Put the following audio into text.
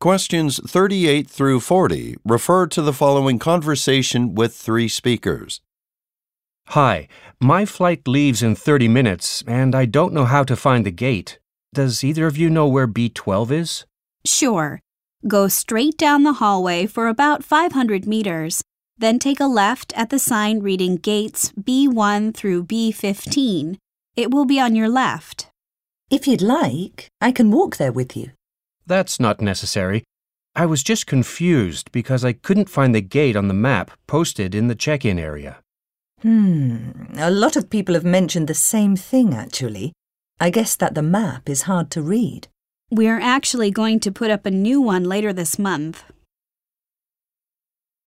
Questions 38 through 40 refer to the following conversation with three speakers. Hi, my flight leaves in 30 minutes, and I don't know how to find the gate. Does either of you know where B12 is? Sure. Go straight down the hallway for about 500 meters. Then take a left at the sign reading gates B1 through B15. It will be on your left. If you'd like, I can walk there with you. That's not necessary. I was just confused because I couldn't find the gate on the map posted in the check-in area. A lot of people have mentioned the same thing, actually. I guess that the map is hard to read. We're actually going to put up a new one later this month.